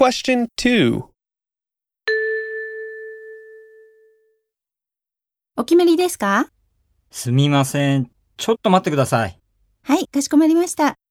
Question 2. お決まりですか？ すみません。ちょっと待ってください。 はい、かしこまりました。